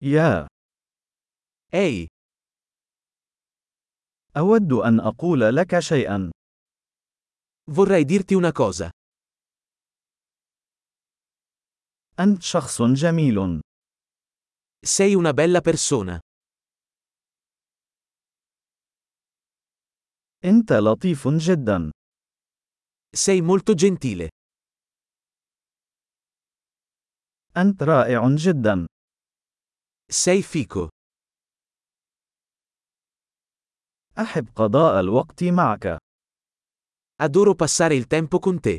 يا. Ehi, أود أن أقول لك شيئا. vorrei dirti una cosa. أنت شخص جميل. Sei una bella persona. أنت لطيف جدا. Sei molto gentile. أنت رائع جدا. Sei fico. أحب قضاء الوقت معك. Adoro passare il tempo con te.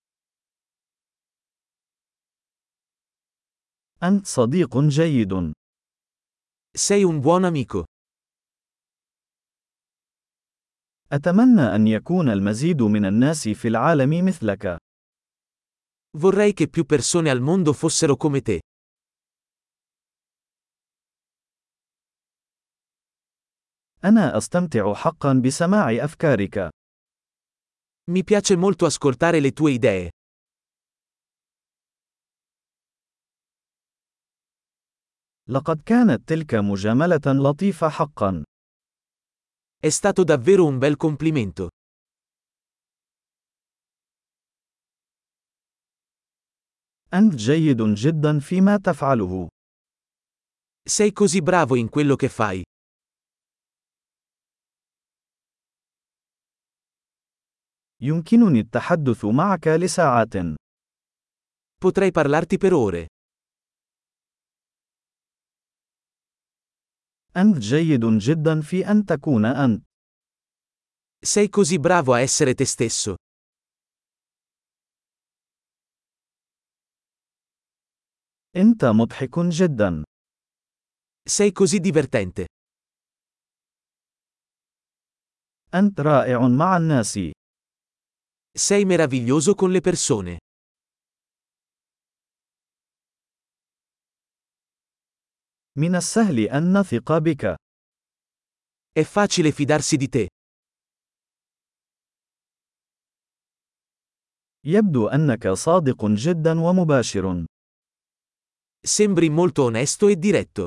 أنت صديق جيد. Sei un buon amico. أتمنى أن يكون المزيد من الناس في العالم مثلك. Vorrei che più persone al mondo fossero come te. أنا أستمتع حقا بسماع أفكارك. Mi piace molto ascoltare le tue idee. لقد كانت تلك مجاملة لطيفة حقا. È stato davvero un bel complimento. أنت جيد جدا فيما تفعله. Sei così bravo in quello che fai. يمكنني التحدث معك لساعات. Potrei parlarti per ore. أنت جيد جدا في أن تكون أنت. Sei così bravo a essere te stesso. أنت مضحك جدا. Sei così divertente. أنت رائع مع الناس. Sei meraviglioso con le persone. من السهل أن نثق بك. È facile fidarsi di te. يبدو أنك صادق جدا ومباشر. Sembri molto onesto e diretto.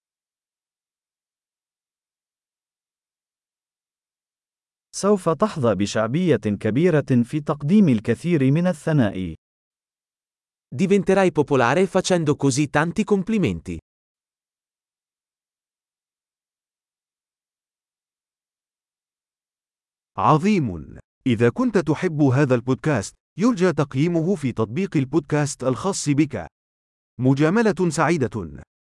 سوف تحظى بشعبية كبيرة في تقديم الكثير من الثناء. Diventerai popolare facendo così tanti complimenti. عظيم. إذا كنت تحب هذا البودكاست، يرجى تقييمه في تطبيق البودكاست الخاص بك. مجاملة سعيدة.